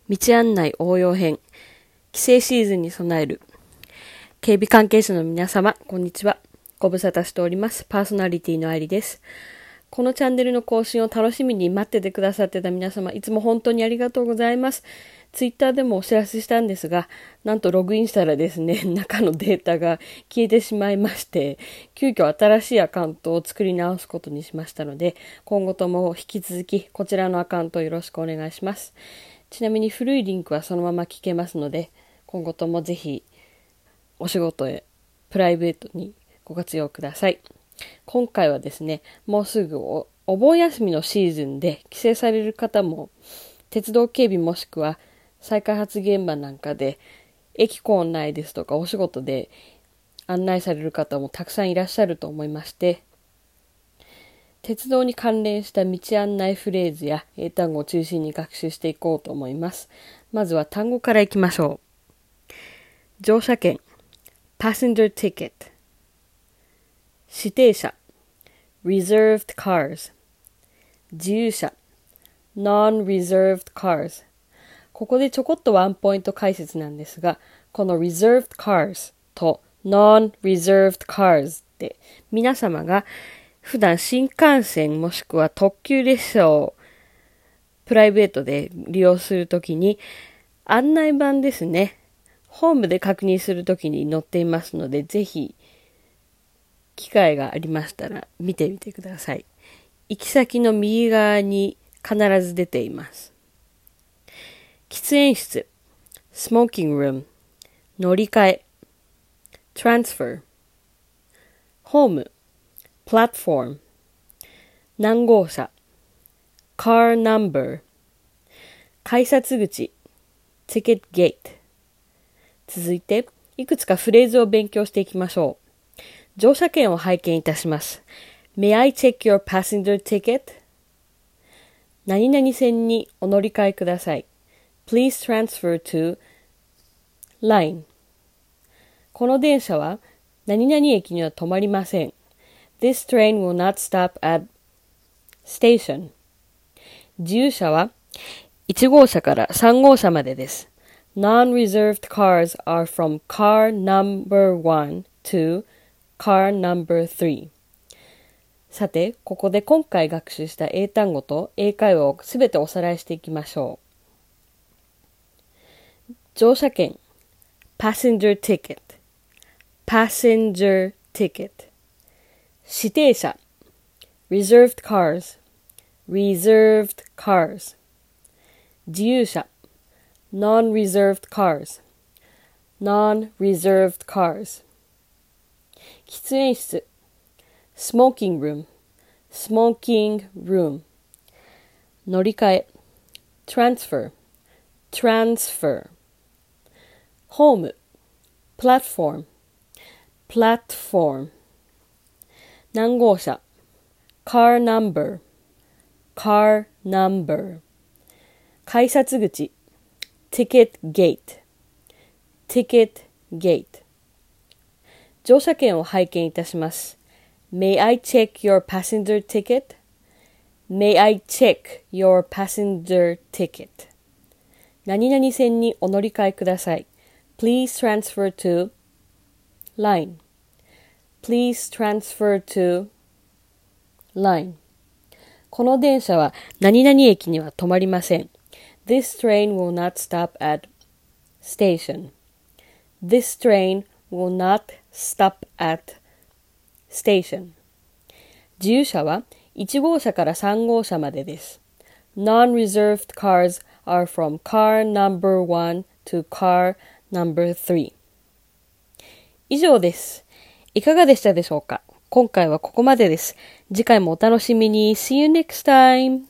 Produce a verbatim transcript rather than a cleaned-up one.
道案内応用編、帰省シーズンに備える。警備関係者の皆様、こんにちは。ご無沙汰しております。パーソナリティの愛理です。このチャンネルの更新を楽しみに待っててくださってた皆様、いつも本当にありがとうございます。ツイッターでもお知らせしたんですが、なんとログインしたらですね、中のデータが消えてしまいまして、急遽新しいアカウントを作り直すことにしましたので、今後とも引き続きこちらのアカウントをよろしくお願いします。ちなみに古いリンクはそのまま聞けますので、今後ともぜひお仕事へプライベートにご活用ください。今回はですね、もうすぐ お, お盆休みのシーズンで帰省される方も、鉄道警備もしくは再開発現場なんかで駅構内ですとかお仕事で案内される方もたくさんいらっしゃると思いまして、鉄道に関連した道案内フレーズや英単語を中心に学習していこうと思います。まずは単語からいきましょう。乗車券 Passenger Ticket、 指定車 Reserved Cars、 自由車 Non-Reserved Cars。 ここでちょこっとワンポイント解説なんですが、この Reserved Cars と Non-Reserved Cars って皆様が普段新幹線もしくは特急列車をプライベートで利用するときに案内板ですね、ホームで確認するときに載っていますので、ぜひ機会がありましたら見てみてください。行き先の右側に必ず出ています。喫煙室 Smoking Room、 乗り換え Transfer、 ホームPlatform、 何号車 Car Number、 改札口 Ticket Gate。 続いていくつかフレーズを勉強していきましょう。乗車券を拝見いたします。 May I check your passenger ticket？ 何々線にお乗り換えください。 Please transfer to line。 この電車は何々駅には止まりません。This train will not stop at station。 自由車はいち号車からさん号車までです。Non-reserved cars are from car number one to car number three。 さて、ここで今回学習した英単語と英会話をすべておさらいしていきましょう。乗車券 Passenger ticket、 Passenger ticket。指定車 Reserved cars、 Reserved cars。 自由車 Non-reserved cars、 Non-reserved cars。 喫煙室 Smoking room、 Smoking room。 乗り換え Transfer、 Transfer。 ホーム Platform、 Platform。何号車 Car number、 Car number。 改札口 Ticket gate、 Ticket gate。 乗車券を拝見いたします。 May I check your passenger ticket？ May I check your passenger ticket？ 何々線にお乗り換えください。 Please transfer to line。Please transfer to line。 この電車は何々駅には止まりません。This train will not stop at station。 This train will not stop at station。 自由車はいち号車からさん号車までです。Non-reserved cars are from car number one to car number three。 以上です。いかがでしたでしょうか。今回はここまでです。次回もお楽しみに。See you next time!